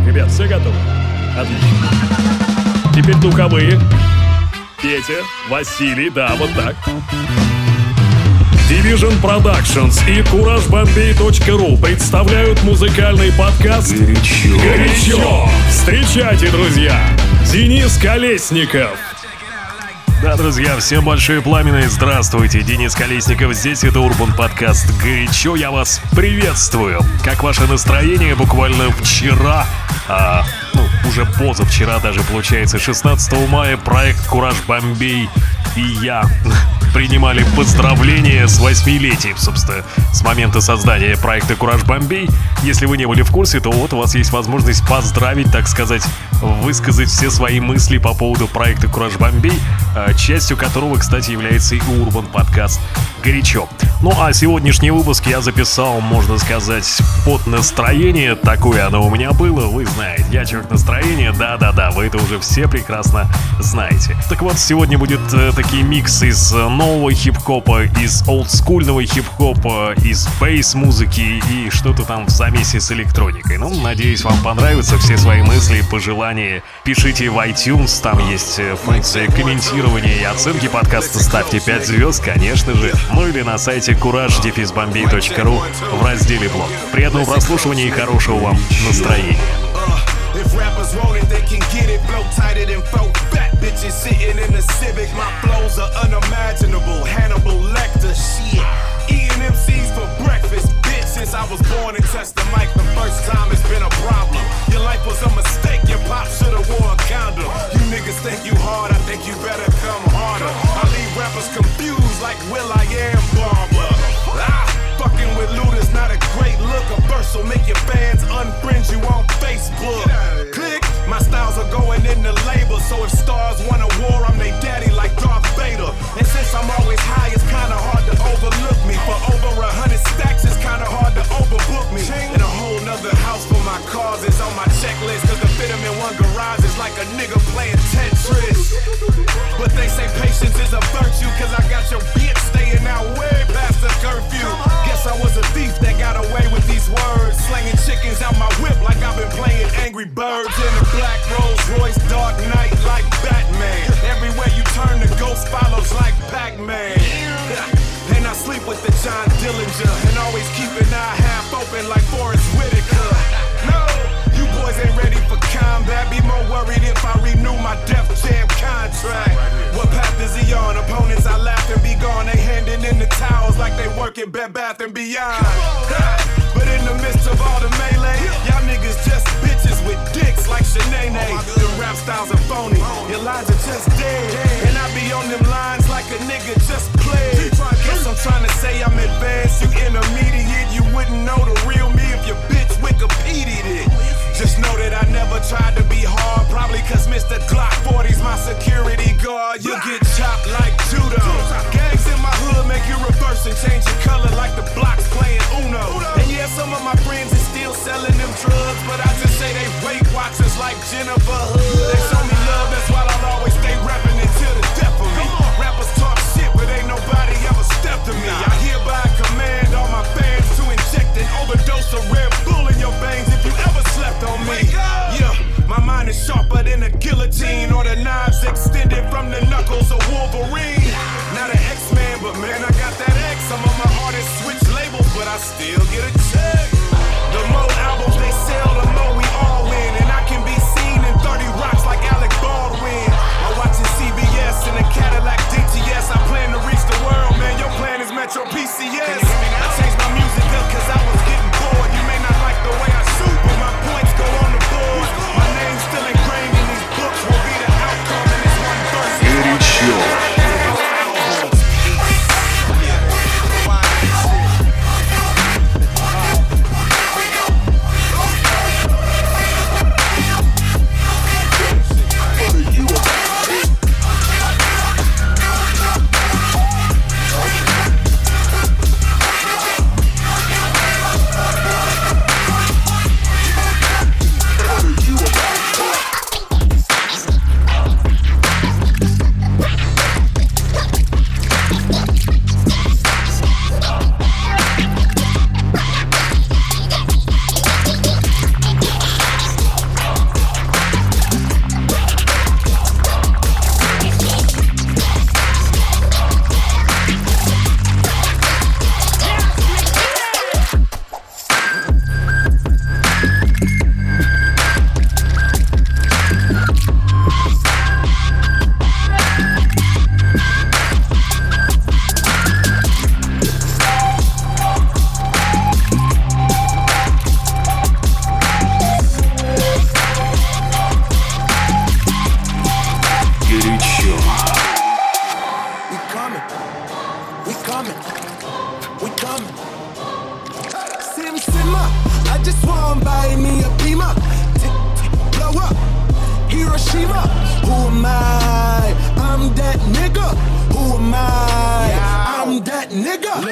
Ребят, все готовы? Отлично. Теперь духовые. Петя, Василий, да, вот так. Division Productions и CourageBombay.ru представляют музыкальный подкаст «Горячо». Встречайте, друзья, Денис Колесников. Да, друзья, всем большое пламенное здравствуйте. Денис Колесников здесь, это Урбан подкаст «Горячо». Я вас приветствую. Как ваше настроение? Буквально вчера, уже позавчера даже, получается, 16 мая проект «Кураж Бомбей» и я принимали поздравления с 8-летием, собственно, с момента создания проекта «Кураж Бомбей». Если вы не были в курсе, то вот у вас есть возможность поздравить, так сказать, высказать все свои мысли по поводу проекта «Кураж Бомбей», частью которого, кстати, является и Урбан подкаст «Горячо». Ну а сегодняшний выпуск я записал, можно сказать, под настроение. Такое оно у меня было, вы знаете. Я человек настроения, да-да-да, вы это уже все прекрасно знаете. Так вот, сегодня будет такие миксы из нового хип-хопа, из олдскульного хип-хопа, из бейс-музыки и что-то там в замесе с электроникой. Ну, надеюсь, вам понравятся все свои мысли, пожелания. Пишите в iTunes, там есть функция комментирования и оценки подкаста. Ставьте 5 звезд, конечно же. Ну или на сайте courage-bombay.ru в разделе «Блог». Приятного прослушивания и хорошего вам настроения. If rappers want it, they can get it. Blow tighter than 4 fat bitches sitting in the Civic. My flows are unimaginable. Hannibal Lecter, shit. Eating MCs for breakfast, bitch. Since I was born and touched the mic the first time, it's been a problem. Your life was a mistake. Your pop should've wore a condom. You niggas think you hard, I think you better come harder. I leave rappers confused like Will.i.am Barber. Fucking with loot is not a great look. A verse will make your fans unfriend you on Facebook. Click, my styles are going in the label. So if stars want a war, I'm they daddy like Darth Vader. And since I'm always high, it's kinda hard to overlook me. For over 100 stacks, it's kinda hard to overbook me. And a whole nother house for my cars is on my checklist. Cause to fit them in one garage is like a nigga playing Tetris. But they say patience is a virtue. Cause I got your bitch staying out way past the curfew. Guess I was a thief that got away with these words. Slanging chickens out my whip like I've been playing Angry Birds. In a black Rolls Royce, Dark Knight like Batman. Everywhere you turn, the ghost follows like Pac-Man. And I sleep with the John Dillinger. And always keep an eye half open like Forrest Whitaker. No, you boys ain't ready for combat. Be more worried if I renew my Def Jam contract. What path is he on? Opponents, I laugh and be gone. They handing in the towels like they work at Bed Bath & Beyond. But in the midst of all the melee, y'all niggas just bitches with dicks like Shanae. The rap styles are phony, your lines are just dead. And I be on them lines like a nigga just played. Guess I'm trying to say I'm advanced, you intermediate. You wouldn't know the real me if your bitch Wikipedia'd it. Just know that I never tried to be hard. Probably cause Mr. Glock 40's my security guard. You'll get chopped like judo. Gangs in my hood make you reverse and change your color like the blocks playing Uno. And yeah, some of my friends is still selling them drugs, but I just say they Weight Watchers like Jennifer Hood. They show me love, that's why I'll always stay rapping until the death of me. Rappers talk shit, but ain't nobody ever stepped to me. I hereby command all my fans to inject an overdose of Red Bull in your veins if you ever slept on me. Yeah, my mind is sharper than a guillotine, or the knives extended from the knuckles of Wolverine. Not an X-Man, but man, I got that X. Some of my artists switch labels, but I still get a check. The more albums they sell, the more we all win. And I can be seen in 30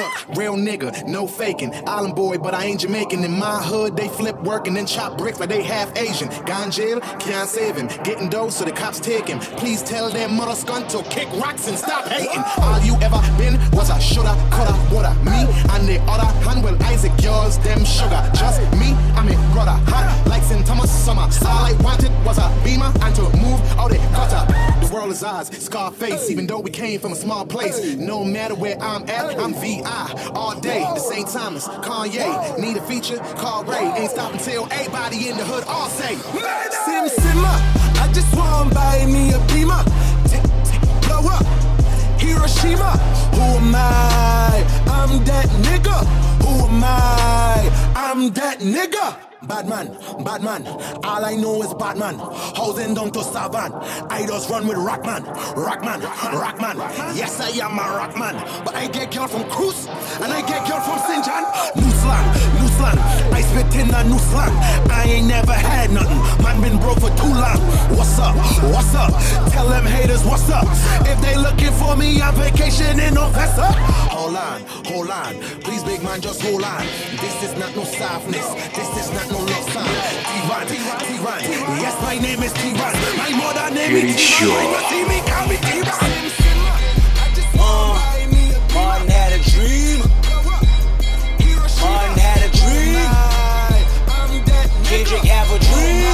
real nigga, no faking. Island boy, but I ain't Jamaican. In my hood, they flip work and then chop bricks like they half Asian. Guy in jail, can't save him. Getting dough, so the cops take him. Please tell that mother skunt to kick rocks and stop hating. All you ever been was a shoulda, coulda, woulda. Me and the other hand, well, Isaac, yours, them sugar. Just me, I'm a brother. Hot like St. Thomas summer. All I wanted was a beamer and to move out the cutter. The world is ours, Scarface, even though we came from a small place. No matter where I'm at, I'm VI all day. The St. Thomas, Kanye, need a feature, call Ray. Ain't stopping till everybody in the hood all say Sim Simmer, I just want to buy me a beamer. Blow up, Hiroshima. Who am I? I'm that nigga. Who am I? I'm that nigga. Batman, Batman, all I know is Batman. Housing down to Savan. I just run with Rockman, Rockman, Rockman. Yes, I am a Rockman. But I get girl from Cruz and I get girl from St. John. New slang, new slang. I spit in a new slang. I ain't never had nothing. Man been broke for too long. What's up? What's up? Tell them haters what's up. If they looking for me on vacation in November. Hold on. Please, big man, just hold on. This is not no softness. This is not no love song. T-Ron. Yes, my name is T-Ron. My mother name is T-Ron. You see me, call me T-Ron. Martin had a dream. Martin had a dream. Kendrick have a dream.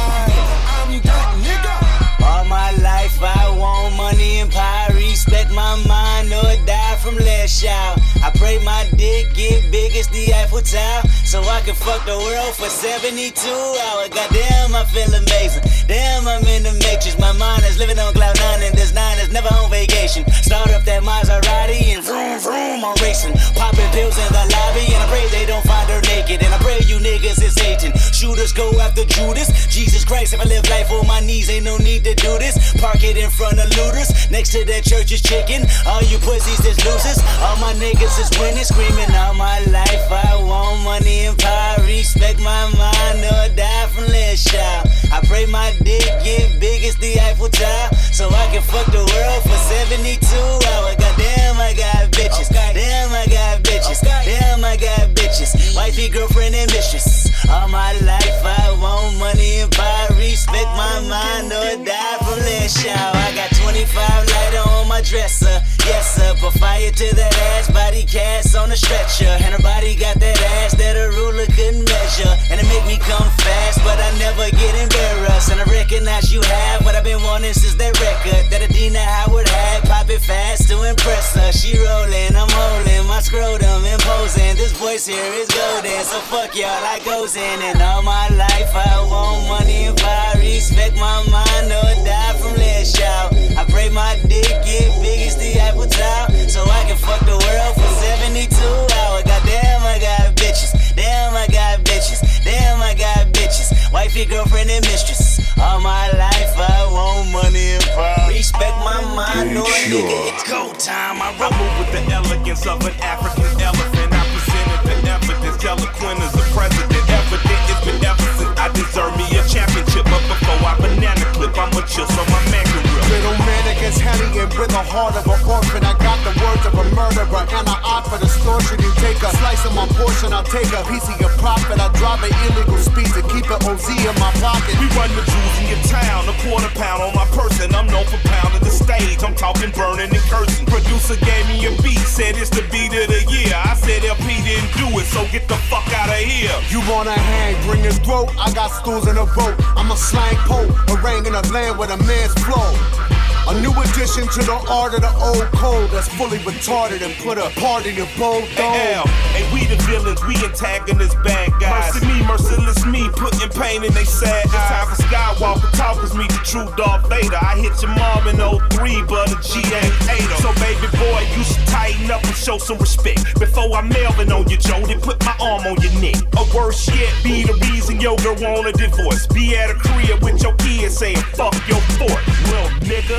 I'm that nigga. All my life I want money and power. Respect my mind or die from last shout. I pray my dick get big as the Eiffel Tower, so I can fuck the world for 72 hours. Goddamn, I feel amazing. Damn, I'm in the matrix. My mind is living on cloud nine, and this nine is never on vacation. Start up that Maserati and vroom vroom, I'm racing. Popping pills in the lobby, and I pray they don't find her naked. And I pray you niggas is hating. Shooters go after Judas. Jesus Christ, if I live life on my knees, ain't no need to do this. Park it in front of looters. Next to that church is chicken. All you pussies is losers. All my niggas is winning, screaming all my life. I want money and power. Respect my mind or die from less shout. I pray my dick get big as the Eiffel Tower, so I can fuck the world for 72 hours. Goddamn, I got bitches. Damn, I got bitches. Damn, I got bitches. Wifey, girlfriend, and mistress. All my life I want money and power. Respect my mind or die from less shout. I got 25 lighter on my dresser. Yes, sir. Put fire to that ass. Body cast on a stretcher. And her body got that ass that a ruler couldn't measure. And it make me come fast, but I never get embarrassed. And I recognize you have what I've been wanting since that record that Adina Howard had. Pop it fast to impress her. She rolling, I'm holding my scrotum imposing. This voice here is golden, so fuck y'all, I goes in. And all my life I want money and power. Respect my mind or die from less shout. I pray my dick get big as the Eiffel Tower, so I can fuck the world for 72 hours. Goddamn, I got bitches. Damn, I got bitches. Damn, I got bitches. Wifey, girlfriend, and mistress. All my life I want money and power. Respect my mind or nigga, it's go time. I move with the elegance of an African elephant. I presented the evidence, eloquent as a president. Evident it's been ever since I deserve me a championship. But before I banana clip, I'ma chill so my man can rip. Little man against Henny and with the heart of an orphan. I got the words of a murderer and I opt for distortion. You take a slice of my portion, I'll take a piece of your profit. I drive an illegal speed to keep an OZ in my pocket. We run the jewels in your town, a quarter pound on my person. I'm known for pounding the stage, I'm talking burning and cursing. Producer gave me a beat, said it's the beat of the year. I said LP didn't do it, so get the fuck out of here. You wanna hang, bring his throat, I got stools in a boat. I'm a slang poet, haranguing a land with a man's flow. A new addition to the art of the old code that's fully retarded and put a part in your bold dome. Hey, we the villains, we antagonists, bad guys. Mercy me, merciless me, putting pain in they sad eyes. It's time for Skywalker, talkers meet the true Darth Vader. I hit your mom in 03, but a G ain't ate her. So baby boy, you should tighten up and show some respect. Before I'm Melvin on you, Joe, then put my arm on your neck. Or worse yet, be the reason your girl want a divorce. Be at a crib with your kids saying, fuck your fort, little nigga.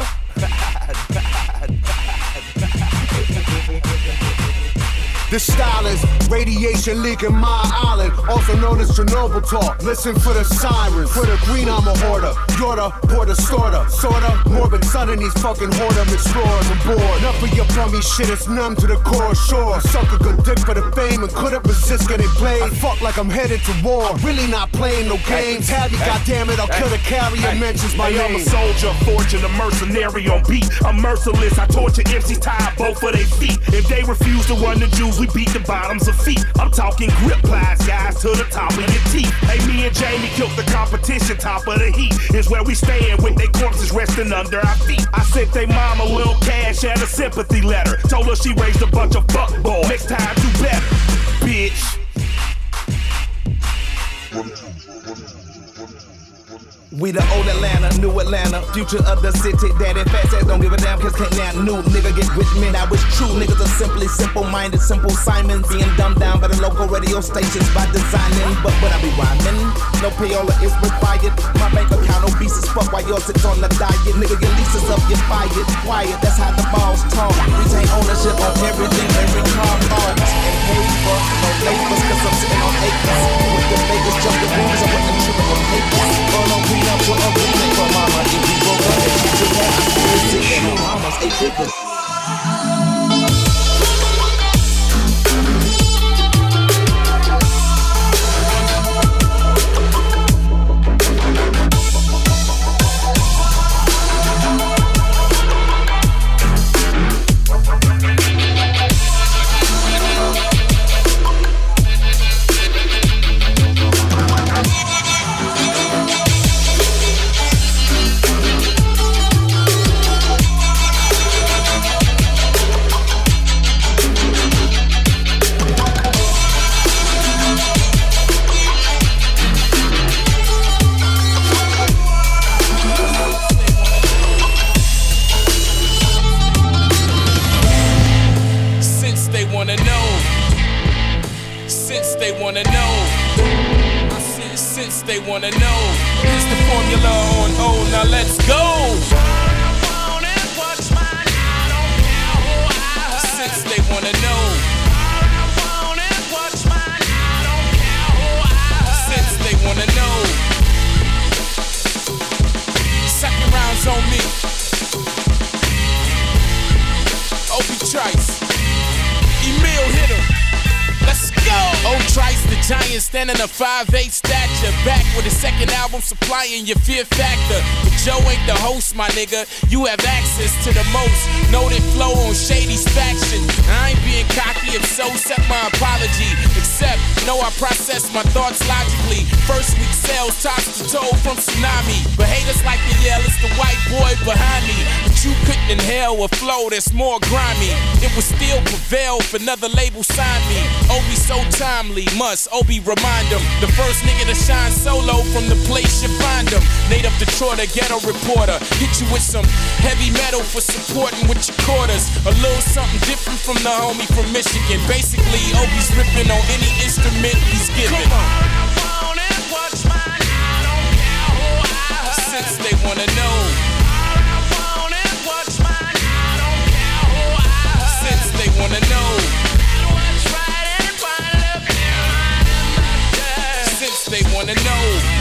This style is radiation leaking my island, also known as Chernobyl talk. Listen for the sirens, for the green I'm a hoarder. Yorta, porter, sorta, sorta. Morbid son in these fucking whoredom explorers aboard. Enough of your bummy shit, it's numb to the core, sure. Suck a good dick for the fame and couldn't resist getting played. I fuck like I'm headed to war, really not playing no games. Tabby, goddammit, I'll kill the carrier, mentions my name. I'm a soldier, fortune, a mercenary on beat. I'm merciless, I torture MCs, tie both of their feet. If they refuse to run the Jews, we beat the bottoms of feet. I'm talking grip plies, guys, to the top of your teeth. Hey, me and Jamie killed the competition, top of the heat is where we stand with their corpses resting under our feet. I sent they mama a little cash and a sympathy letter. Told her she raised a bunch of fuckboys. Next time do better, bitch. We the old Atlanta, new Atlanta, future of the city. Daddy fat ass don't give a damn, cause can't now new nigga get with me. Now it's true, niggas are simply simple-minded, simple Simons. Being dumbed down by the local radio stations by designing. But when I be rhyming, no payola is required. My bank account obese as fuck while yours sits on the diet. Nigga, your leases up, you're fired. Quiet, that's how the balls talk. Retain ownership on everything, every car bought. And paid for, no labors, cause I'm sitting on acres. With the Vegas jumping rooms, I'm with the triple on papers. Burn on green up for a remake for mama. If we broke up, then she should have. We're sitting on mama's 8 figures. They wanna know, here's the formula on O, now let's go. Since they wanna know, since they wanna know, second round's on me. Obi Trice, Emil hit him. Let's go! Oh, Trice, the giant, standing a 5'8" stature. Back with his second album, supplying your fear factor. But Joe ain't the host, my nigga. You have access to the most noted flow on Shady's faction. I ain't being cocky, if so, accept my apology. Except, know I process my thoughts logically. First week sales, tops to toe from Tsunami. But haters like to yell, it's the white boy behind me. But you couldn't inhale a flow that's more grimy. It would still prevail if another label signed me. Obi so timely, must Obi remind him. The first nigga to shine solo from the place you find him. Native Detroit, a ghetto reporter. Hit you with some heavy metal for supporting with your quarters. A little something different from the homie from Michigan. Basically, Obi's ripping on any instrument he's given. Since they wanna know. Since they wanna know. Since they wanna know.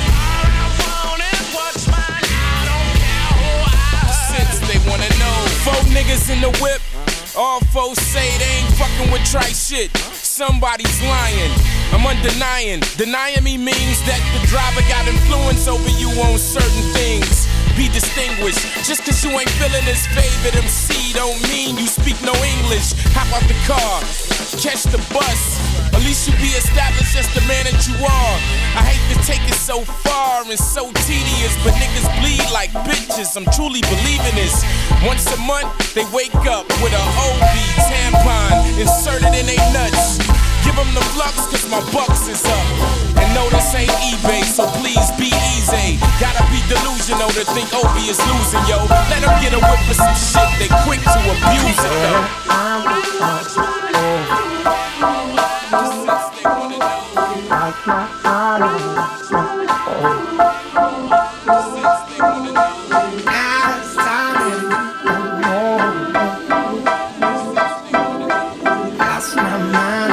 Since they wanna know. 4 niggas in the whip. All foes say they ain't fucking with Trice shit. Somebody's lying. I'm undenying. Denying me means that the driver got influence over you on certain things. Be distinguished. Just cause you ain't feeling his favorite MC don't mean you speak no English. Hop out the car, catch the bus. At least you be established as the man that you are. I hate to take it so far and so tedious, but niggas bleed like bitches. I'm truly believing this. Once a month, they wake up with a OB tampon inserted in they nuts. Give them the flux, cause my bucks is up. And no, this ain't eBay, so please be easy. Gotta be delusional to think Obi is losing, yo. Let them get a whip for some shit, they quick to abuse it, though. That's my mind.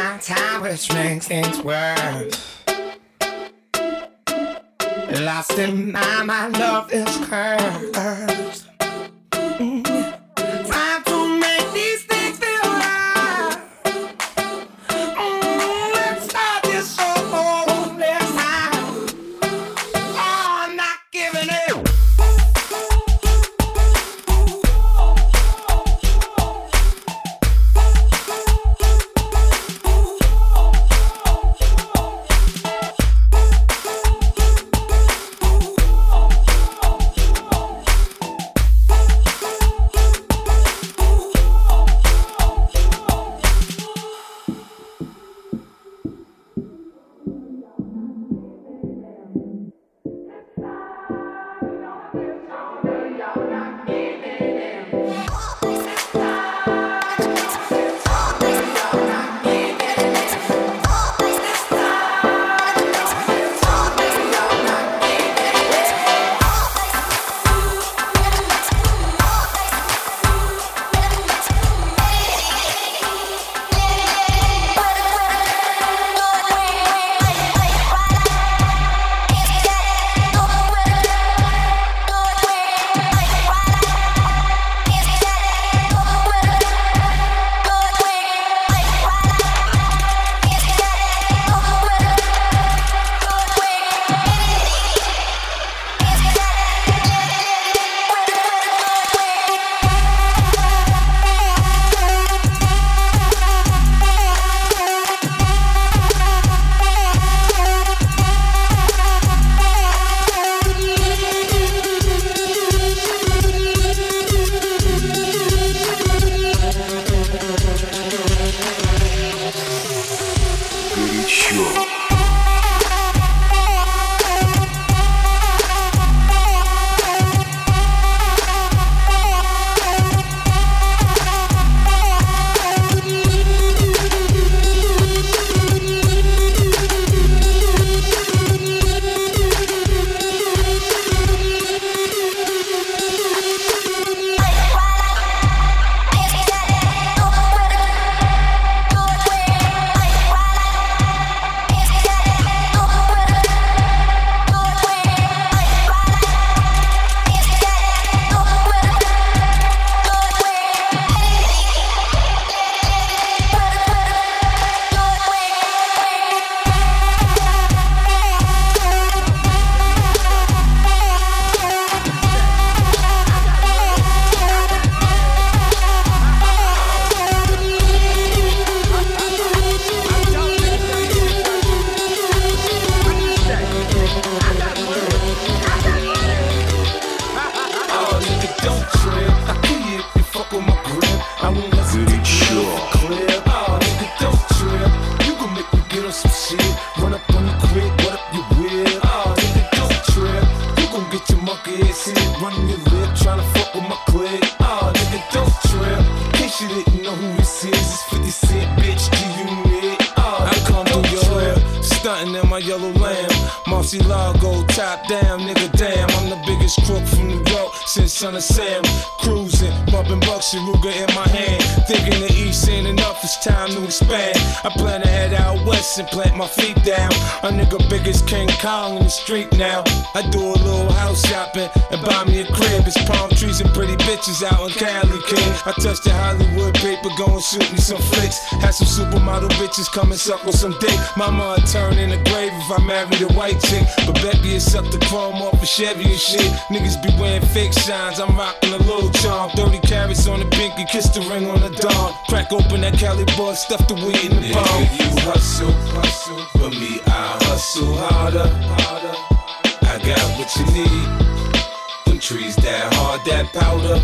my time, which makes things worse. Lost in my love is cursed. Trying to make these things feel right. Let's start this over next time. Oh, I'm not giving it. Murcielago, top down, nigga, damn. I'm the biggest crook from New York since Son of Sam. Cruising, bumping Bucks and Ruger in my hand. Thinking the East ain't enough, it's time to expand. I plan to head out west and plant my feet down. A nigga big as King Kong in the street now. I do a little house shopping and buy me a crib. It's palm trees and pretty bitches out in Cali, kid. I touch the Hollywood paper, go and shoot me some flicks. Had some supermodel bitches come and suck on some dick. Mama would turn in the grave if I married a white chick. But Becky would suck the chrome off a Chevy and shit. Niggas be wearing fake shines, I'm rocking a little charm. 30 carats on the pinky, kiss the ring on the dawn. Crack open that Cali bud, stuff the weed in the palm. You hustle, for me I hustle harder. I got what you need. Them trees that hard, that powder.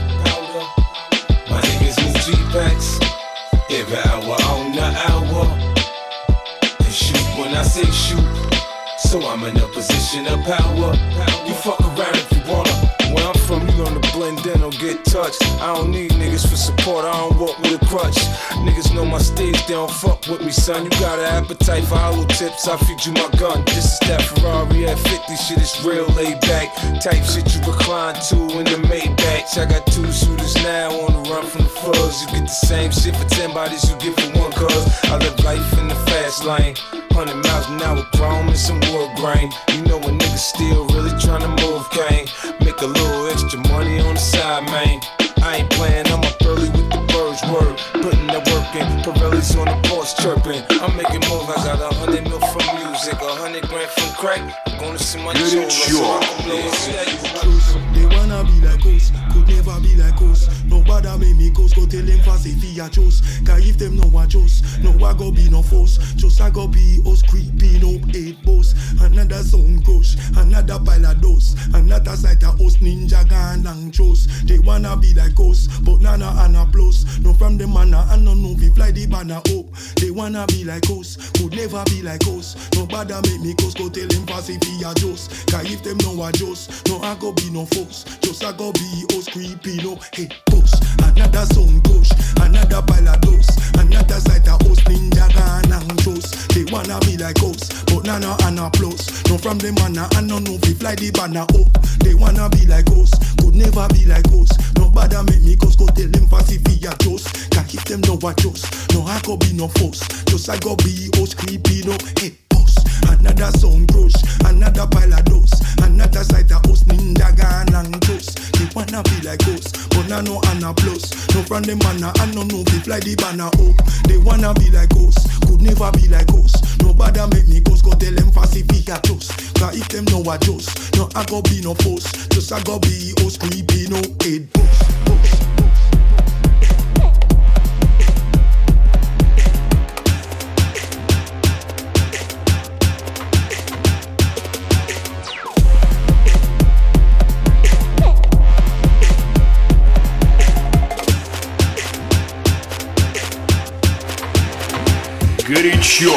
My niggas move G-Packs every hour on the hour. And shoot when I say shoot, so I'm in a position of power. You fuck around if you wanna. Where I'm from, you learn to blend in or get touched. I don't need niggas for support, I don't walk with a crutch. Niggas know my stage, they don't fuck with me, son. You got an appetite for hollow tips, I feed you my gun. This is that Ferrari at 50, shit is real laid back. Type shit you recline to in the Maybach. I got 2 shooters now on the run from the fuzz. You get the same shit for 10 bodies you get for 1 cuz. I live life in the fast lane. 100 miles an hour chrome and some wood grain. You know a nigga still really tryna move cane. Make a little extra money on the side, man. I ain't playing, I'm up early with the birds word. Putting that work in, Pirelli's on the porch chirping. I'm making moves, I got 100 mil from music, 100 grand from crack. I'm gonna see my children. They wanna be like us, could never be like us. Nobody make me ghost, go tell them fast if he a just. Cause if them know what just, no I go be no force. Just I go be us creeping up 8 boss. Another sound crush, another pile of dust. Another sight of us ninja gun and chose. They wanna be like us, but nana and a plus. No from them manna and no know we fly the banner up. They wanna be like us, could never be like us. Nobody make me ghost, go tell them fast if he a just. Cause if them know what just, no I go be no force. Just I go be us creeping up 8 boss. Another sound push, another pile of dust. Another sight of us ninja gun and chose. They wanna be like us, but nana and a plus. No from them manna and no know we fly the banner up. They wanna be like us, could never be like us. Nobody make me go tell them fast if he a just. Cause if them know what just, no I go be no force. Just I go be us creeping up 8 boss. Another sound crush, another pile of dust. Another sight of us ninja gun and toast. They wanna be like us, but now no and a plus. No from them manna and no know we fly the banner up. They wanna be like us, could never be like us. Nobody make me go tell them fast if he a just. Cause if them know what just, no I go be no force. Just I go be us creepy no 8 boss. Горячо.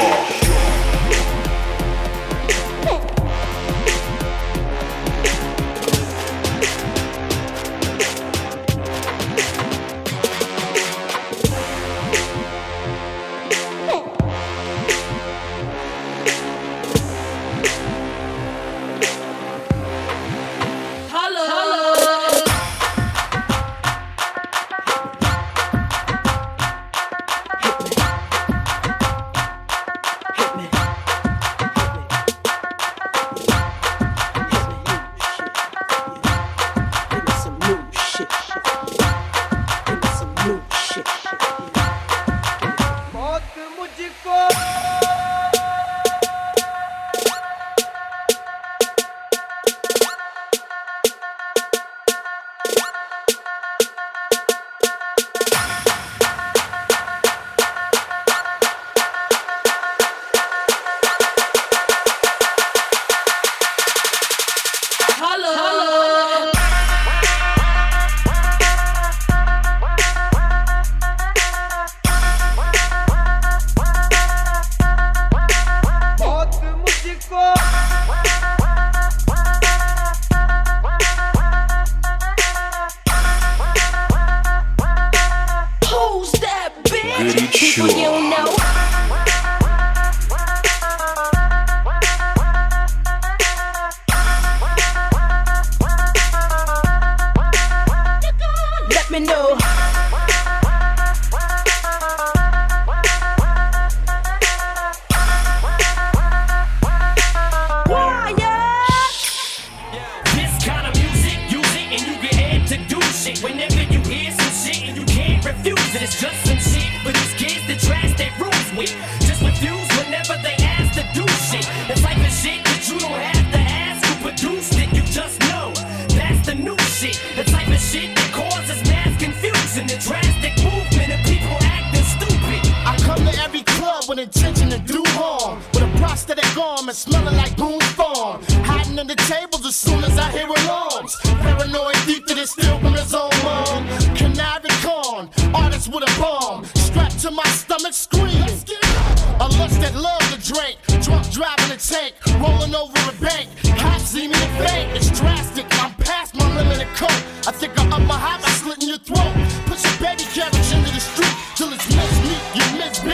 I think I up my high by slitting your throat. Put your baby carriage into the street till it's miss me, you miss Ben beat.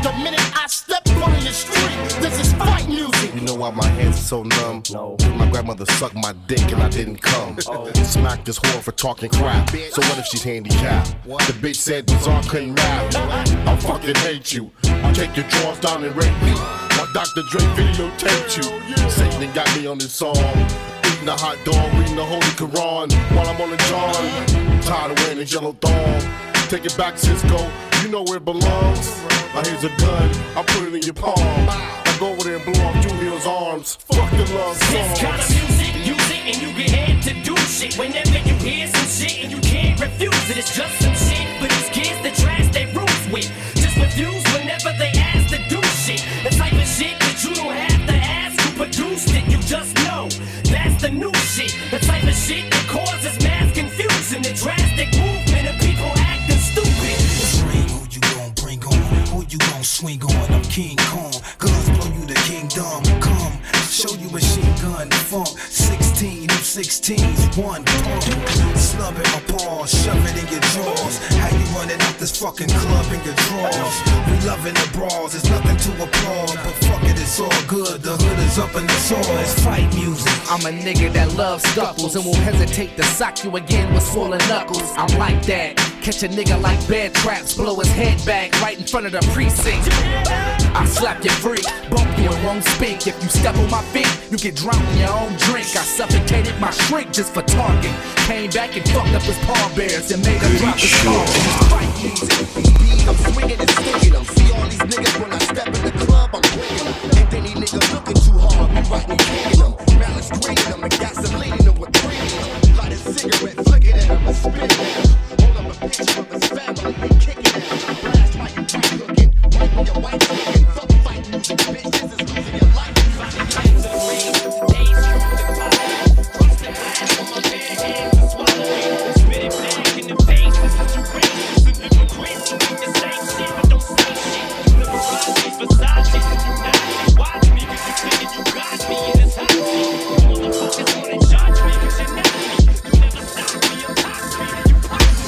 the minute I step on your street. This is fight music. You know why my hands are so numb? No. My grandmother sucked my dick and I didn't come. Smacked this whore for talking crap. So what if she's handicapped? The bitch said Bizarre couldn't rap. I fucking hate you. Take your drawers down and rape me. My Dr. Dre videotaped you. Satan got me on this song. Eating a hot dog, reading the Holy Quran while I'm on the John. Tired of wearing this yellow thong. Take it back, Cisco. You know where it belongs. Now here's a gun. I put it in your palm. I go over there and blow off Julia's arms. Fuck the love song. This kind of music, use it and you get head to do shit. Whenever you hear some shit and you can't refuse it, it's just some shit for these kids that trash their roots with. Just refuse whenever they ask to do shit. The type of shit that you don't have to ask who produced it. You just know that's the new shit. The type of shit that causes mass confusion. The drastic movement of people acting stupid. Bring who you gon' bring on, who you gon' swing on. I'm King Kong, guns blow you the kingdom. Come, show you machine gun funk. 16, you 16s, one pump. Slub in my balls, shove it in your drawers. How you running out this fucking club in your drawers? We loving the brawls, there's nothing to applaud. But fuck it, it's all good, the hood is up in the soil. It's fight music. I'm a nigga that loves scuffles and won't hesitate to sock you again with swollen knuckles. I'm like that. Catch a nigga like bad traps, blow his head back right in front of the precinct. I slap you free, bump you and won't speak. If you step on my feet, you get drowned in your own drink. I suffocated my shrink just for talking. Came back and fucked up his pallbearers and made him drop his ball. It's fight music. I'm swinging and stinging them. See all these niggas when I step in the club, I'm bringing them. Ain't any nigga looking too hard, be right me kicking them. Malice greening them and gasoline them with premium. Light a cigarette, flicking at them and spitting at them. Hold up a picture of his family and kicking at them. Blast like you tight looking, right when your wife's looking. Fuck fight music, bitch, this is losing your life. Fighting to the ring, days through the fire. Cross the line on my bare hands and swallow it. Spit it back in the face, this is your race. This is hypocrites, you make the same shit, but don't say shit. The Versace, Versace, you not watch me, cause you think you got me in this hot seat. Motherfuckers wanna judge me, cause you're not me. You never stop me, you're top street, and you pop me.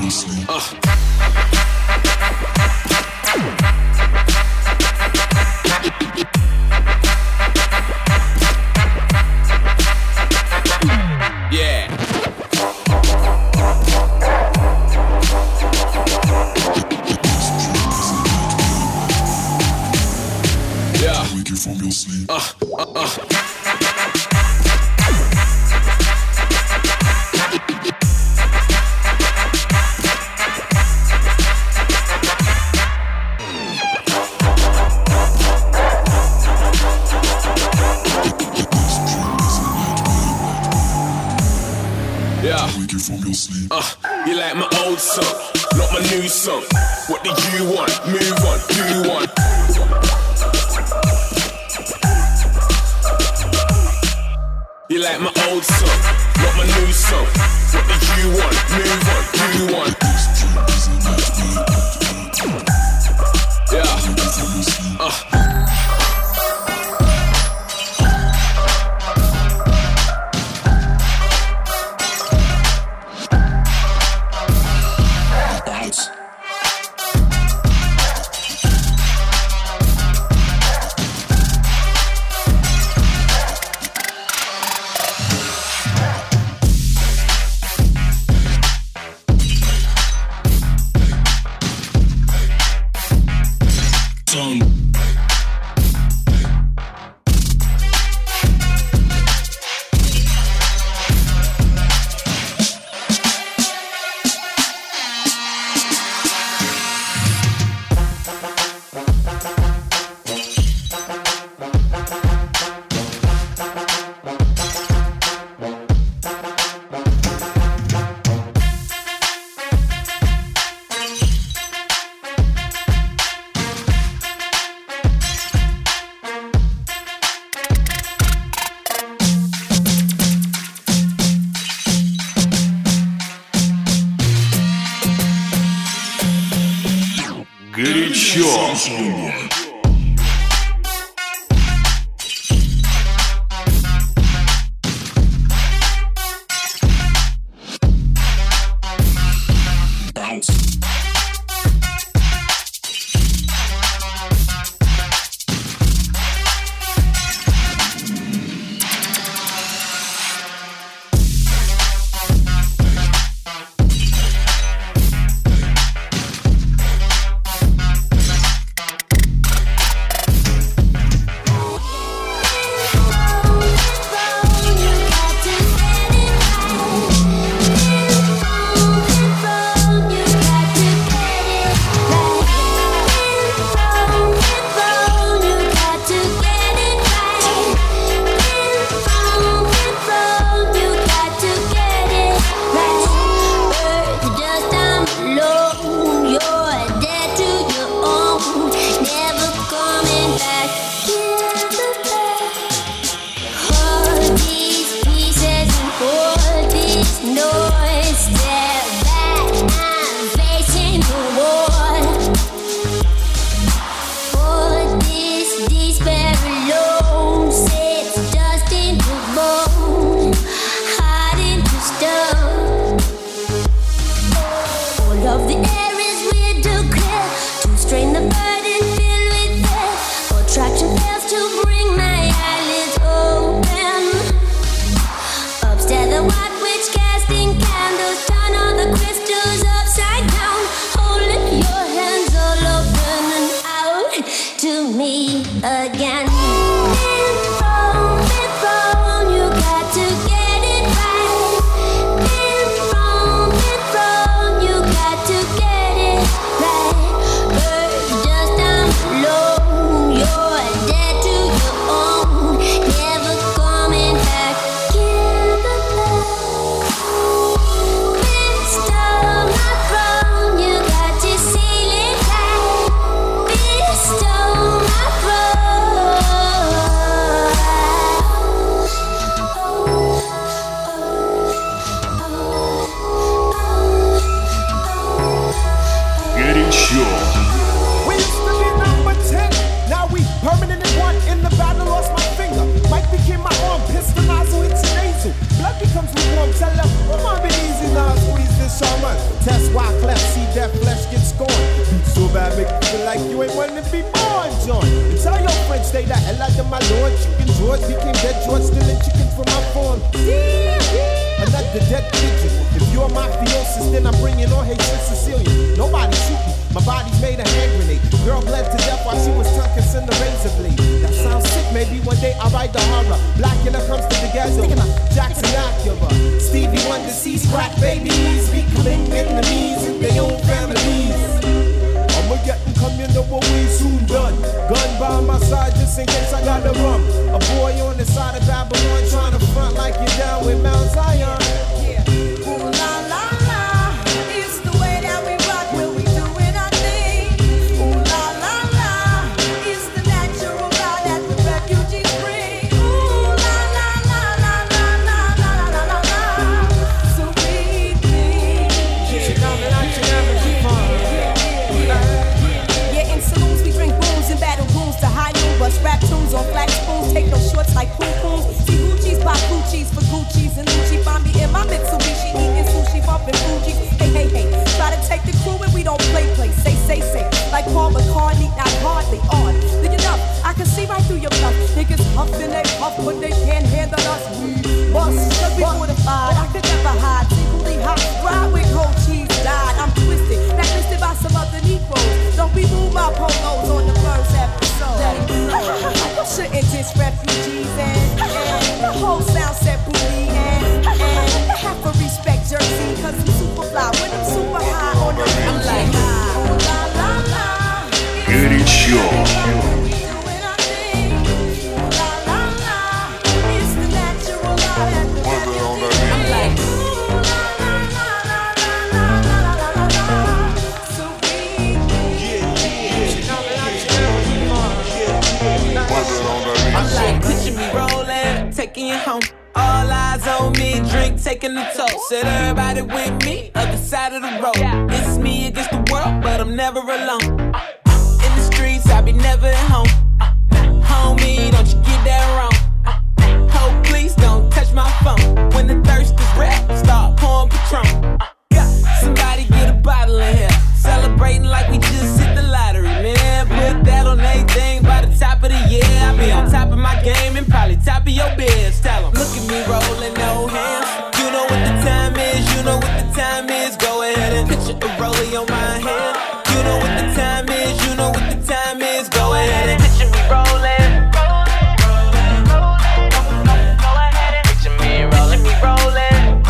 You like my old song, not my new song. What do you want? Move on, do one. You like my old song, not my new song. What do you want? Move on, do one. Yeah. Tell her, come on, be easy now, squeeze this this alright. Test why cleft, see that flesh get scorned. Beat so bad, make you feel like you ain't wanting to be born, John. And tell your friends, stay the hell out of my lord. Chicken George became dead George, stealing chicken from my farm. Another dead pigeon. If you're mafiosis, then I'm bringing on Haitian Sicilian. Nobody shoot me, my body's made a hand grenade. Girl bled to death while she was tucking in the razor blade. That sounds sick, maybe one day I'll write the horror. Blackula comes to the ghetto, Jackson Acura. Stevie Wonder sees crack babies becoming enemies in their own families. I'ma get and come, you know what we soon done. Gun by my side just in case I gotta run. A boy on the side of Babylon trying to front like you're down with Mount Zion. Ooh la la la, it's the way that we rock when we doing our thing. Ooh la la la, it's the natural law that the refugees bring. Ooh la la la la la la la la la la, so we think. Yeah, in saloons we drink booze and battle goons to high noon, bust rap tunes on flat spoons, take no shorts like poon poons. See Gucci's pop Gucci's for Gucci's and Gucci find me in my Mitsubishi eating sushi, bumping Fuji. Hey, hey, hey, try to take the crew and we don't play. Say, like Paul McCartney, not hardly on. Then you know, I can see right through your bluff. Niggas puffin' they puff, but they can't handle us. We bust, cause we fortified. I could never hide, secretly hot, ride with cold cheese, died. I'm twisted, blacklisted by some other Negroes. Don't we move my polos on the first episode. You shouldn't diss refugees and the whole sound set booty and have to respect Jersey, cause I'm super fly when I'm super high on the I'm like, la la la, Горячо. Picture me rolling, taking you home. All eyes on me, drink taking the toast. Said everybody with me, other side of the road. It's me against the world, but I'm never alone. In the streets, I be never at home. Homie, don't you get that wrong. Oh, please don't touch my phone. When the thirst is rap, start pouring Patron. Somebody get a bottle in here. Celebrating like we just hit the lottery, man. Put that on everything by the top of the year. I be on top of my game and probably top of your beds. Tell 'em, look at me rolling, no hands. You know what the time is, you know what the time is. Go ahead and picture a rollie on my hand. You know what the time is, you know what the time is. Go ahead and picture me rolling. Go ahead and picture me rolling, me rolling.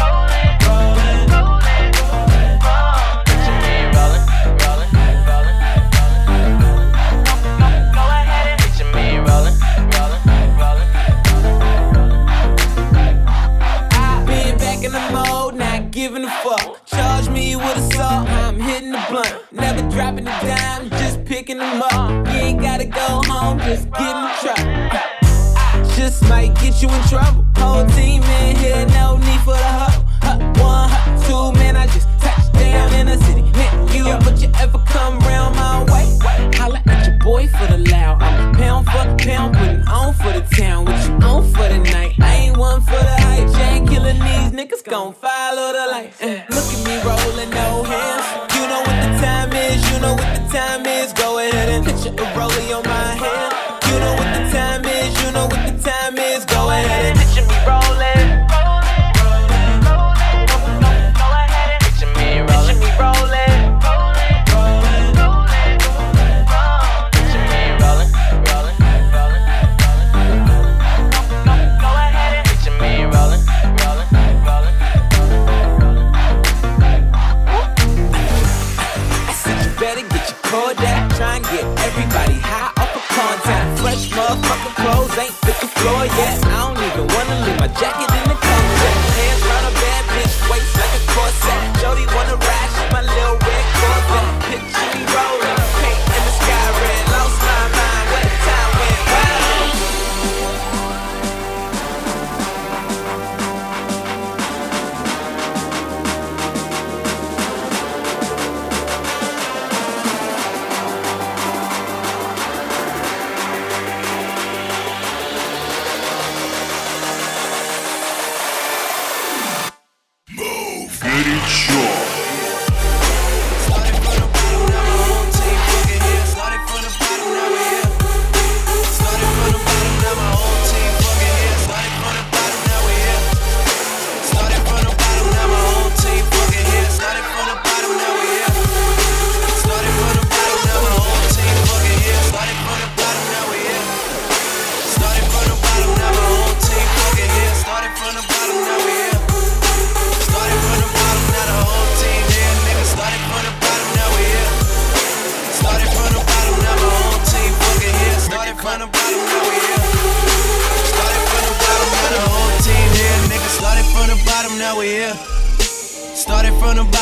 Giving a fuck, charge me with assault. I'm hitting the blunt, never dropping a dime, just picking them up. You ain't gotta go home, just get in the truck. Just might get you in trouble. Whole team in here, no need for the huddle. One, two, man, I just touched down in the city. Hit you, but you ever come round my way? Holla at your boy for the loud. I'm pound for pound, putting on for the town. What you on for the night? I ain't one for the hype. Jane killing these niggas, gon' follow the light. Look at me rolling, no hands. You know what the time is, you know what the time is. Go ahead and picture a rollie on my hand. You know what the time is, you know what the time is. Go ahead and picture me rolling. Go ahead and picture me rolling. Picture me rolling. Picture me rolling, rolling, rolling, rolling. Go ahead and picture me rolling, rolling, rolling. I said you better get your cord out. Try and get everybody high off of contact. Fresh motherfucking clothes ain't fit the floor yet. I don't even wanna leave my jacket in the closet. Hands round a bad bitch, waist like a corset. Jody wanna ride, she my little red Corvette. Picture me rolling, paint in the sky red. Lost my mind, where the time went wild. Горячо.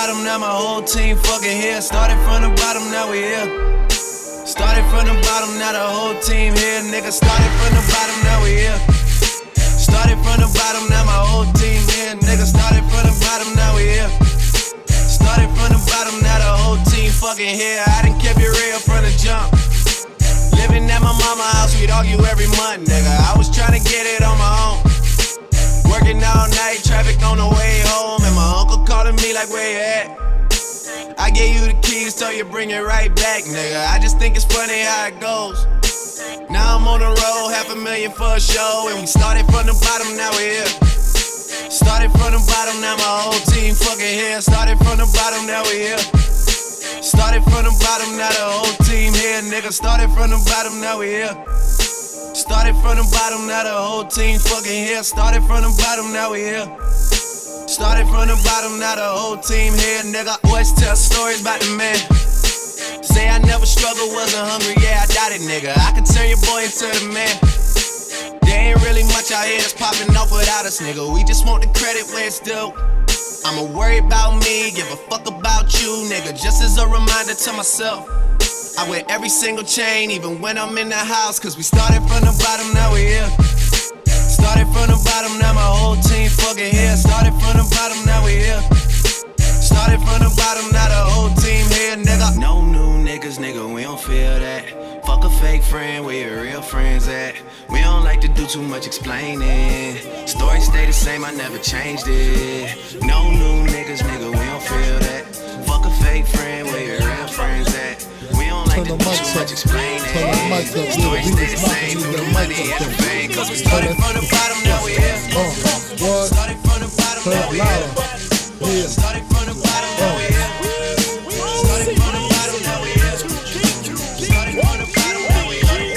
bottom, now my whole team fucking here. Started from the bottom, now we here. Started from the bottom, now the whole team here. Nigga, started from the bottom, now we here. Started from the bottom, now my whole team here. Nigga, started from the bottom, now we here. Started from the bottom, now the whole team fucking here. I done kept it real from the jump. Living at my mama's house, we'd argue every month, nigga. I was trying to get it on my own. Working all night, traffic on the way home. And my uncle calling me like, where you at? I gave you the keys, so you bring it right back, nigga. I just think it's funny how it goes. Now I'm on the road, $500,000 for a show. And we started from the bottom, now we're here. Started from the bottom, now my whole team fucking here. Started from the bottom, now we here. Started from the bottom, now the whole team here, nigga. Started from the bottom, now we here. Started from the bottom, now the whole team fucking here. Started from the bottom, now we here. Started from the bottom, now the whole team here, nigga. Always tell stories about the man. Say I never struggled, wasn't hungry, yeah, I doubt it, nigga. I could turn your boy into the man. There ain't really much out here that's popping off without us, nigga. We just want the credit where it's due. I'ma worry about me, give a fuck about you, nigga. Just as a reminder to myself, I wear every single chain, even when I'm in the house. Cause we started from the bottom, now we here. Started from the bottom, now my whole team fucking here. Started from the bottom, now we here. Started from the bottom, now the whole team here, nigga. No new niggas, nigga, we don't feel that. Fuck a fake friend, where your real friends at? We don't like to do too much explaining. Story stay the same, I never changed it. No new niggas, nigga, we don't feel that. Fuck a fake friend, where your real friends at? We don't like to do too much explaining. Story stay the same, through the money and the fame. Cause we started from the bottom, now we here. Started from the bottom, now we here. Started from the bottom, now we here. Started from the bottom, now we here. Started from the bottom, now we here.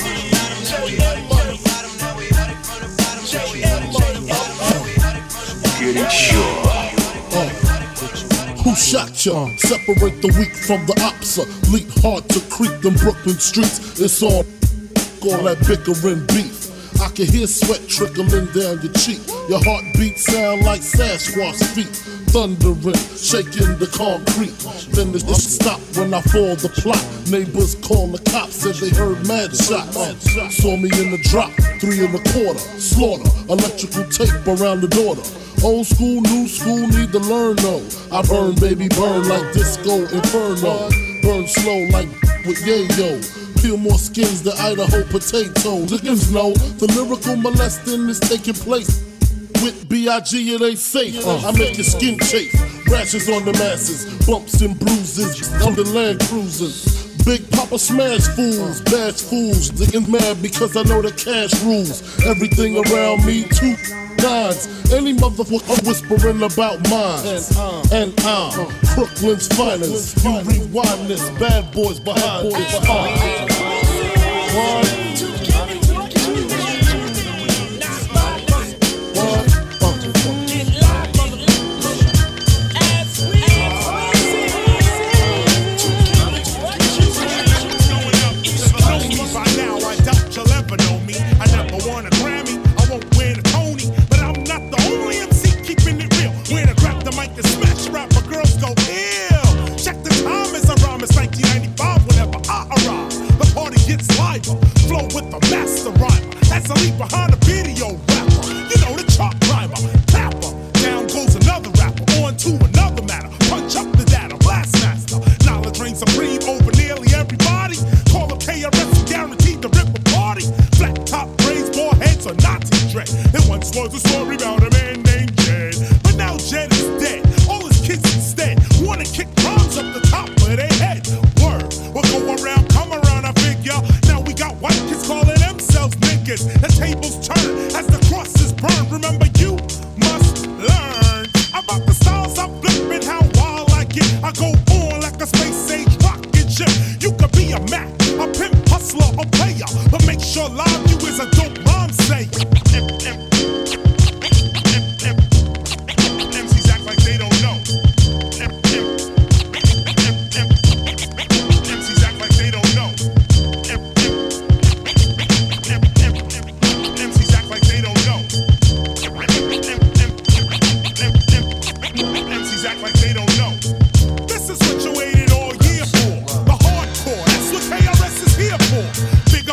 Who shot ya? Separate the weak from the opsa. Leap hard to creep them Brooklyn streets. It's all that bickering beef. I can hear sweat trickling down your cheek. Your heartbeat sound like Sasquatch feet. Thundering, shaking the concrete. Then it stop when I fall the plot. Neighbors call the cops, said they heard mad shots. Saw me in the drop, 3 1/4. Slaughter, electrical tape around the daughter. Old school, new school, need to learn though. I burn, baby, burn like disco inferno. Burn slow like with yayo. Peel more skins than Idaho potatoes. Niggas know the lyrical molesting is taking place. With B.I.G. it ain't safe. I make your skin chafe. Rashes on the masses, bumps and bruises. On the land cruising. Big Papa smash fools, bash fools. Niggas mad because I know the cash rules. Everything around me, 2 9s. Any motherfucker whispering about mine. And I'm Brooklyn's finest. You rewind this, bad boys behind this.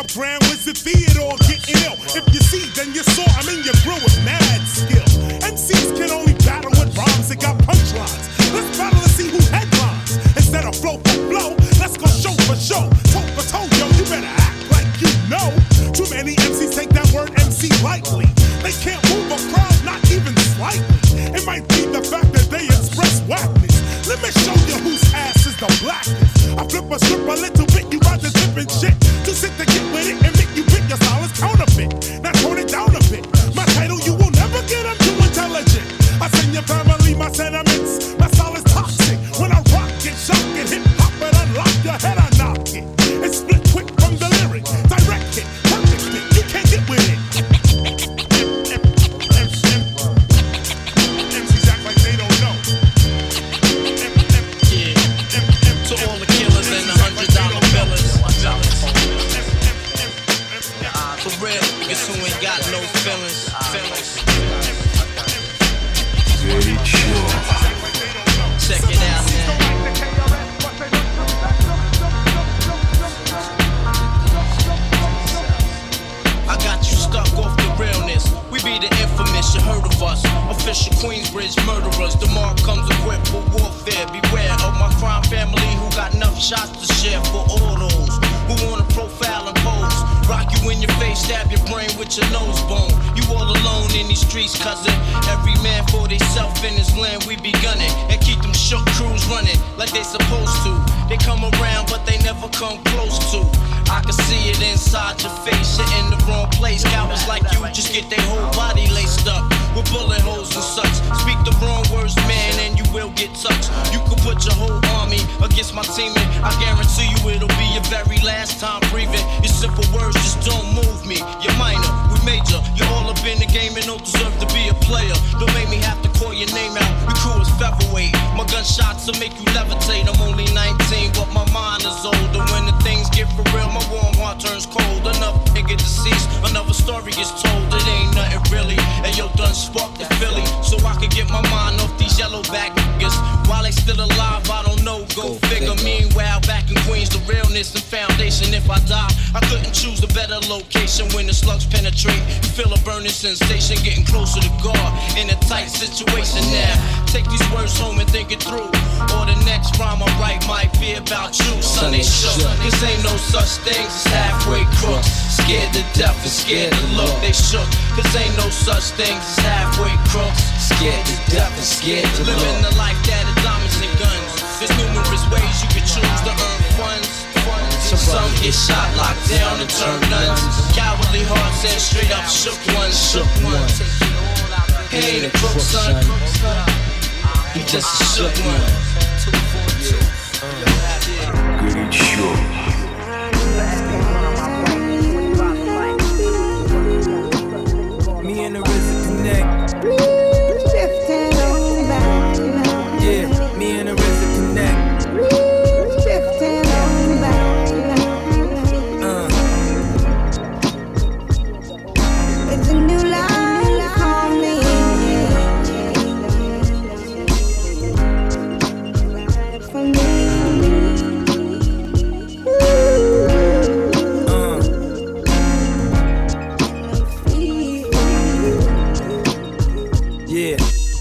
Grand Wizard Theodore getting ill. If you see, then you saw. I'm in your grill with mad skill. MCs can only battle with rhymes that got punchlines. Let's battle and see who headlines. Instead of flow for flow, let's go show for show. Toe for toe, yo, you better act like you know. Too many MCs take that word MC lightly. They can't move a crowd, not even slightly. It might be the fact that they express whackness. Let me show you whose ass is the blackest. I flip a strip a little bit, you about to dip and shit. Too sick to get with it and make you pick your style is counterfeit. Now tone it down a bit. My title, you will never get, I'm too intelligent. I send your family my sentiments. My style is toxic. When I rock it, shock it, hip hop it, unlock your head, I knock it. It's split quick from the lyric. Direct it, perfect fit, you can't get with it. MCs act like they don't know. To all the killers and the $100 billers. For real, niggas who ain't got no feelings. Check it out now. I got you stuck off the realness. We be the infamous, you heard of us. Official Queensbridge murderers. The mark comes equipped for warfare. Beware of my crime family who got enough shots to share for all those who wanna profile and pose. Rock you in your face, stab your brain with your nose bone. You all alone in these streets, cousin. Every man for theyself in his land, we be gunning. And keep them shook crews running like they supposed to. They come around, but they never come close to. I can see it inside your face, you're in the wrong place. Cowards like you just get their whole body laced up with bullet holes and such. Speak the wrong words, man, and you will get touched. You could put your whole army against my team, and I guarantee you it'll be your very last time breathing. Your simple words just don't move me. You're minor, we major. You're all up in the game and don't deserve to be a player. Don't make me have to call your name out. Your crew is featherweight. My gunshots will make you levitate. I'm only 19, but my mind is older. When the things get for real, my warm heart turns cold. Another nigga deceased, another story gets told. It ain't nothing really. And yo, done sparked the Philly, so I could get my mind off these yellow back niggas. While they still alive, I don't know, go figure. Meanwhile, back in Queens, the realness and foundation. If I die, I couldn't choose a better location. When the slugs penetrate, you feel a burning sensation, getting closer to God in a tight situation now. Take these words home and think it through, or the next rhyme I write might be about you. Son, they shook, cause ain't no such things as halfway crooks. Scared to death and scared to look, they shook, cause ain't no such things as halfway crooks. Scared to death and scared to look. Living the life that is diamonds and guns. There's numerous ways you can choose to earn funds. Some get shot, locked down, and turn nuns. Cowardly hearts and straight up shook ones. He ain't a crook, son. He just a shook one. Горячо. Me and the RZA connect. Yeah, me and the RZA connect. It's a new life for me. For me. Yeah.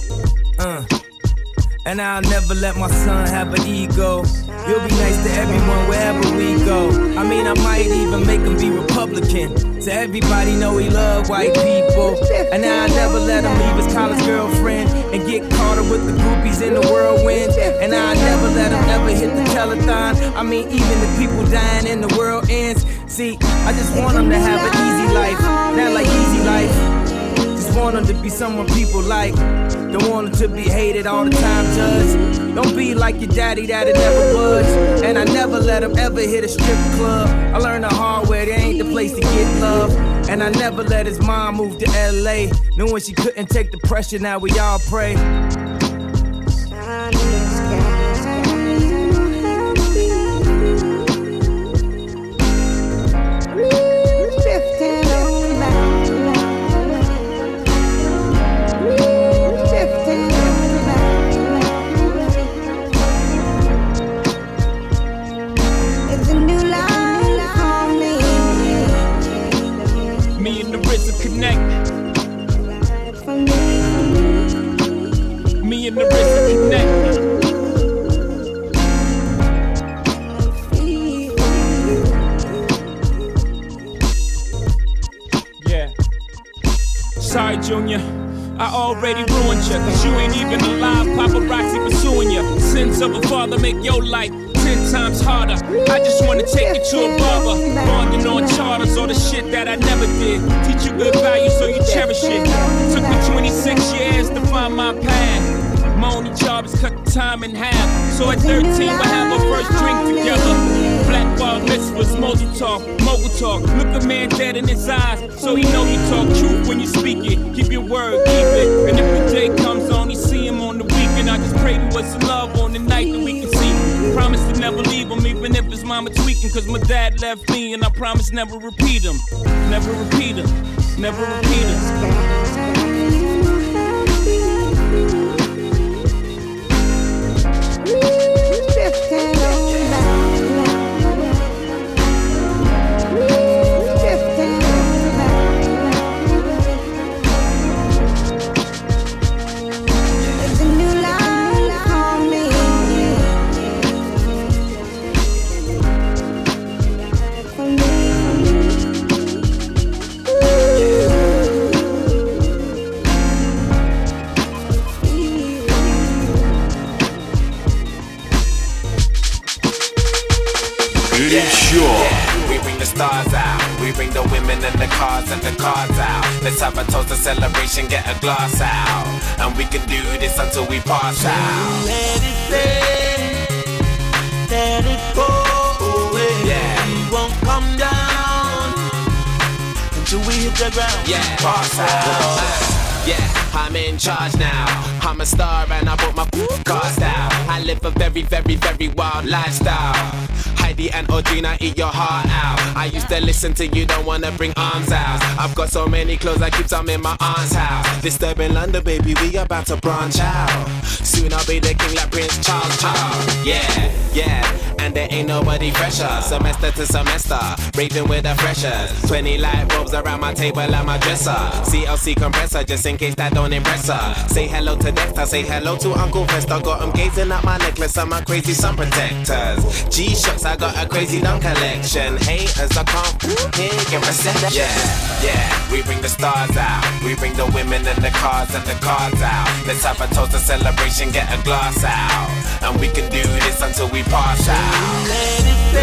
And I'll never let my son have an ego. You'll be nice to everyone wherever we go. I mean, I might even make him be Republican, so everybody know he love white people. And I'll never let him leave his college girlfriend and get caught up with the groupies in the whirlwind. And I'll never let him ever hit the telethon. I mean, even the people dying and the world ends. See, I just want him to have an easy life, not like easy life. Just want him to be someone people like. Don't want him to be hated all the time, judge. Don't be like your daddy that it never was. And I never let him ever hit a strip club. I learned the hard way, there ain't the place to get love. And I never let his mom move to LA, knowing she couldn't take the pressure, now we all pray. Junior. I already ruined you, cause you ain't even alive. Paparazzi pursuing you. Sins of a father make your life 10 times harder. I just wanna take you to a barber. Bonding on charters, all the shit that I never did. Teach you good values so you cherish it. Took me 26 years to find my path. My only job is cut the time in half. So at 13, we'll have our first drink together. Black bar mitzvahs, mogul talk. Look a man dead in his eyes, so he know you talk truth when you speak it. Keep your word, keep it. And if the day comes on, you see him on the weekend. I just pray to us love on the night that we can see. Promise to never leave him, even if his mama tweaking. Cause my dad left me, and I promise never repeat him. Never repeat him, never repeat him. We bring the stars out, we bring the women and the cars out. Let's have a toast, a celebration, get a glass out. And we can do this until we pass out. Let it go away. Yeah. We won't come down until we hit the ground. Yeah, pass out. Yeah, I'm in charge now. I'm a star and I bought my cars out. I live a very, very, very wild lifestyle. Heidi and Audrina, eat your heart out. I used to listen to you, don't wanna bring arms out. I've got so many clothes, I keep some in my aunt's house. Disturbing London, baby, we about to branch out. Soon I'll be the king like Prince Charles. Yeah, and there ain't nobody fresher. Semester to semester, raving with the freshers. 20 light bulbs around my table and my dresser. CLC compressor, just in case that don't impress her. Say hello to Dexter, say hello to Uncle Fester. Got him gazing at my necklace and my crazy sun protectors. G-Shocks, I got a crazy dumb collection. Haters, I can't hear get reception. Yeah, we bring the stars out. We bring the women and the cars out. Let's have a toast, a celebration, get a glass out. And we can do this until we pass out. Let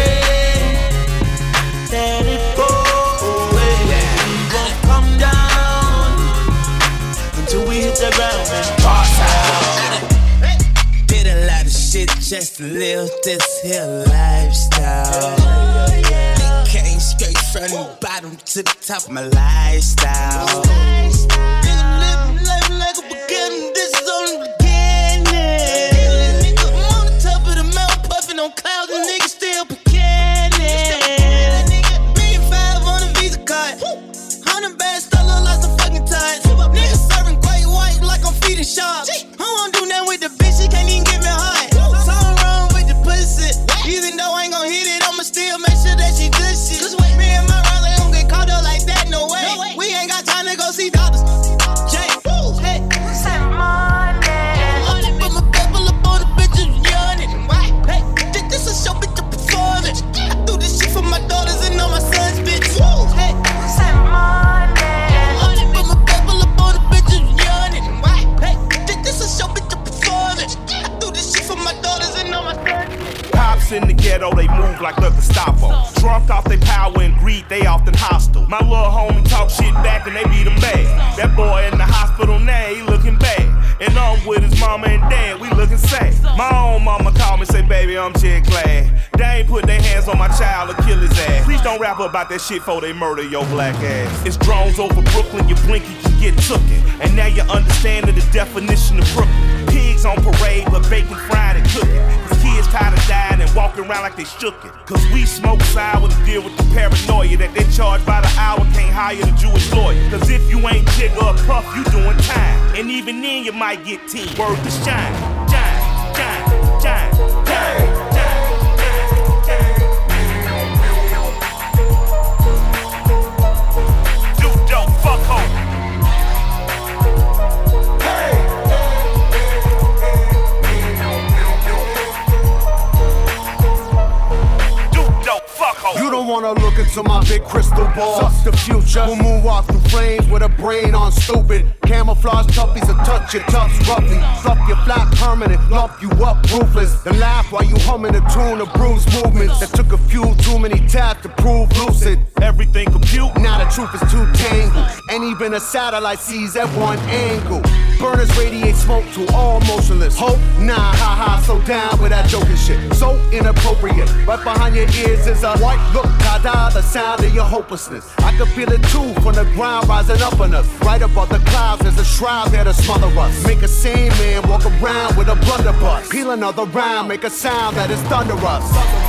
it go away. Yeah. We won't come down until we hit the ground and pass out. Did a lot of shit just to live this here lifestyle. Came straight from the bottom to the top of my lifestyle. Nigga living life like a beginning, this is only the beginning. Nigga, I'm on the top of the mountain, puffing on clouds, and niggas still beginning. $1,500,000 on a Visa card, 100 bands still look like some fucking ties. Niggas serving great white like I'm feeding sharks. I won't do nothing with the bitch, she can't even get me hard. Something wrong with the pussy, even though I ain't gon' hit it, I'ma still make sure that she good shit. Me and my rounds ain't gon' get caught up like that, no way. We ain't got time to go see doctors. Jay, hey, say money. Put my pebble up on the bitches yawning. Hey, this a show, bitch, I'm performing. I do this shit for my daughters and all my sons, bitch. Hey, say money. Put my pebble up on the bitches yawning. Hey, this a show, bitch, I'm performing. I do this shit for my daughters and all my sons. Cops in the ghetto, they move like the Gestapo. Drunk off their power and greed, they often hostile. My little homie talk shit back and they beat him bad. That boy in the hospital now, he looking bad. And I'm with his mama and dad, we looking sad. My own mama called me, say, baby, I'm just glad they ain't put their hands on my child or kill his ass. Please don't rap about that shit before they murder your black ass. It's drones over Brooklyn, you blink, you can get tooken. And now you're understanding the definition of Brooklyn. Pigs on parade, but bacon fried and cooking. Kids tired of dying and walking around like they shook it. Cause we smoke sour to deal with the paranoia that they charge by the hour, can't hire the Jewish lawyer. Cause if you ain't Jigga or Puff, you doing time. And even then you might get 10. Word to shine. Do dope, fuck home. don't wanna look into my big crystal ball. Suck the future. We'll moonwalk through flames with a brain on stupid. Camouflage toughies will touch your tufts roughly. Fluff your flat permanent, lump you up ruthless. Then laugh while you humming a tune of bruised movements that took a few too many taps to prove lucid. Everything compute, now the truth is too tangled. And even a satellite sees at one angle. Burners radiate smoke to all motionless. Hope? Nah, haha, so down with that joking shit. So inappropriate. Right behind your ears is a white look, tada, the sound of your hopelessness. I can feel it too from the ground rising up on us. Right above the clouds, there's a shroud there to smother us. Make a sane man walk around with a blunderbuss. Peel another round, make a sound that is thunderous.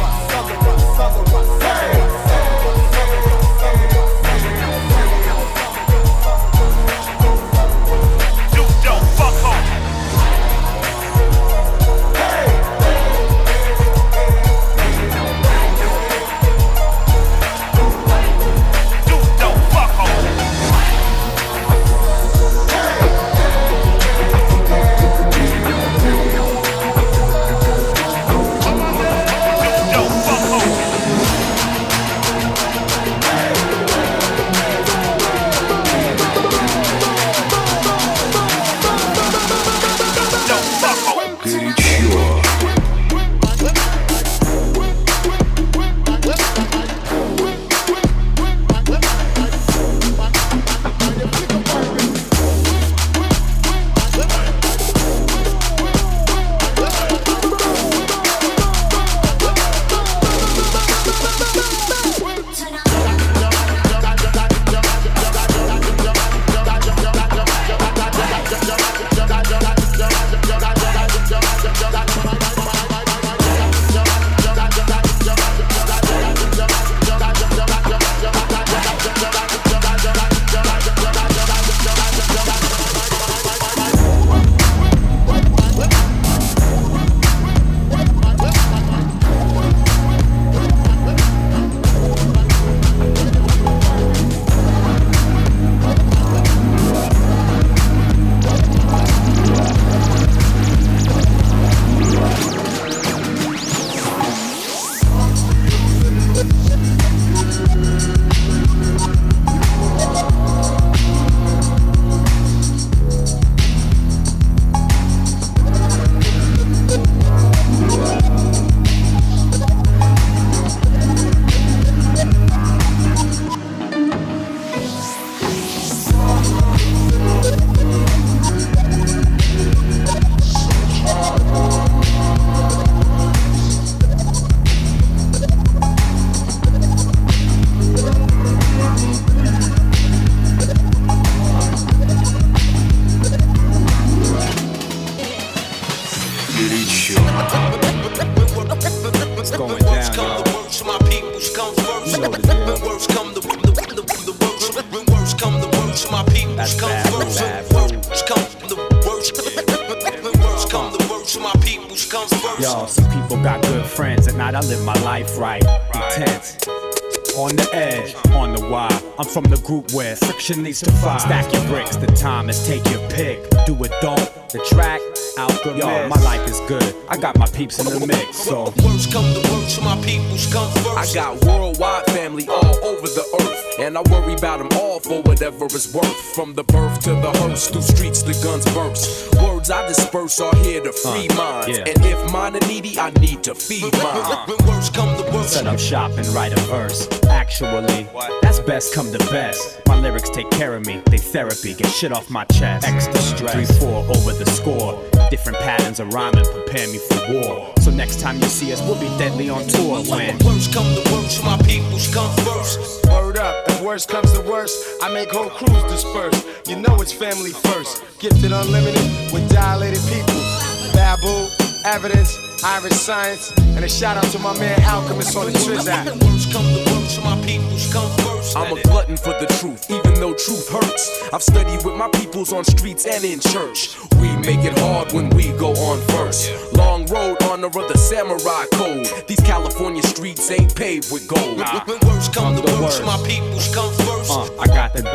Yo, some people got good friends, at night I live my life right, intense. On the edge, on the wire. I'm from the group where friction needs to fire. Stack your bricks, the time is take your pick. Do it, don't, the track, alchemist. Yo, my life is good, I got my peeps in the mix, so. Worst come to worst, my peoples come first. I got worldwide family all over the earth, and I worry about them all for whatever it's worth. From the birth to the hearse, through streets the guns burst. Words I disperse are here to free minds, yeah. And if mine are needy, I need to feed mine. When worst come to worst, set up shop and write a verse. Actually, that's best come to best. My lyrics take care of me, they therapy, get shit off my chest. Extra stress, 3-4 over the score. Different patterns of rhyming prepare me for war. So next time you see us, we'll be deadly on tour. When worst come to worst, my peoples come first. Word up, if worst comes to worst, I make whole crews disperse. You know it's family first. Gifted unlimited with dilated people. Babu, Evidence, Irish Science, and a shout out to my man Alchemist on the Trizac. Worst come to worst, my peoples come first. I'm a glutton for the truth, even though truth hurts. I've studied with my peoples on streets and in church. We make it hard when we go on first. Long road, honor of the samurai code. These California streets ain't paved with gold. When worst come to worst, my peoples come first. I got the back.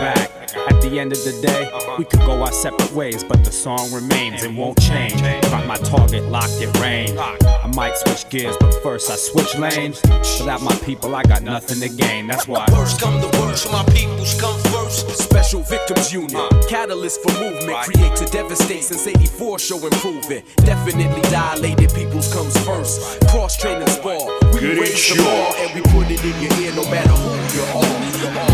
At the end of the day, we could go our separate ways, but the song remains, it won't change. Got my target locked in range. I might switch gears, but first I switch lanes. Without my people, I got nothing to gain, that's why. Worst come to worst, my peoples come first. Special Victims Unit, catalyst for movement. Create to devastate since 84, show improvement. Definitely dilated, peoples comes first. Cross training spar, we raise the bar and we put it in your ear no matter who you are.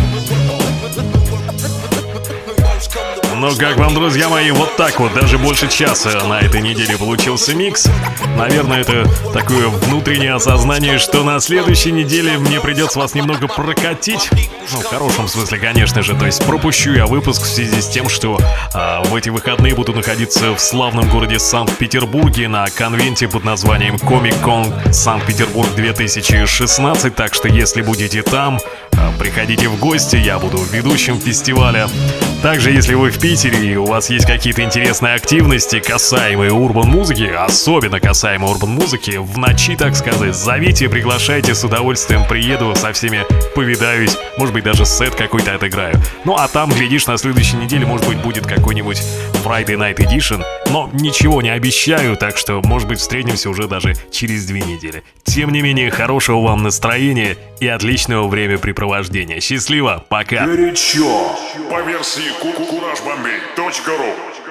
Ну, как вам, друзья мои, вот так вот, даже больше часа на этой неделе получился микс. Наверное, это такое внутреннее осознание, что на следующей неделе мне придется вас немного прокатить. Ну, в хорошем смысле, конечно же. То есть пропущу я выпуск в связи с тем, что в эти выходные буду находиться в славном городе Санкт-Петербурге на конвенте под названием Comic-Con Санкт-Петербург 2016. Так что, если будете там, приходите в гости, я буду ведущим фестиваля. Также, если вы в Питере и у вас есть какие-то интересные активности, касаемые урбан-музыки, особенно касаемые урбан-музыки, в ночи, так сказать, зовите, приглашайте, с удовольствием приеду, со всеми повидаюсь, может быть, даже сет какой-то отыграю. Ну, а там, глядишь, на следующей неделе, может быть, будет какой-нибудь Friday Night Edition, но ничего не обещаю, так что, может быть, встретимся уже даже через 2 недели. Тем не менее, хорошего вам настроения и отличного времяпрепровождения. Счастливо, пока! Горячо! По версии CourageBombay.ru